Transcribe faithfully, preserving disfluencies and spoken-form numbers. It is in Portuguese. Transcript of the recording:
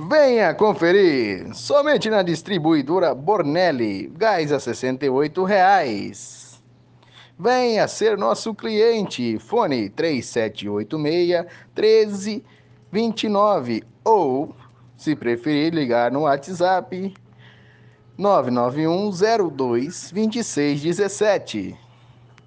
Venha conferir! Somente na distribuidora Bornelli, gás a sessenta e oito reais. Venha ser nosso cliente. Fone três sete oito seis, um três dois nove ou, se preferir, ligar no WhatsApp nove nove um zero dois dois seis um sete.